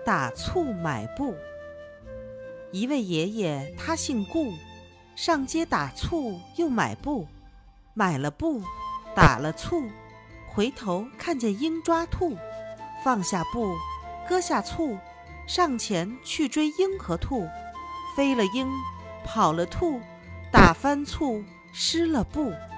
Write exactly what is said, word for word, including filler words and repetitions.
打醋买布。一位爷爷他姓顾，上街打醋又买布，买了布，打了醋，回头看见鹰抓兔，放下布，搁下醋，上前去追鹰和兔，飞了鹰，跑了兔，打翻醋，湿了布。